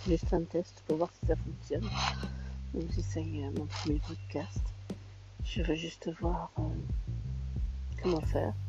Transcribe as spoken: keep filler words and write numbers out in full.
juste un test pour voir si ça fonctionne. Donc j'essaye euh, mon premier podcast. Je veux juste voir euh, comment faire.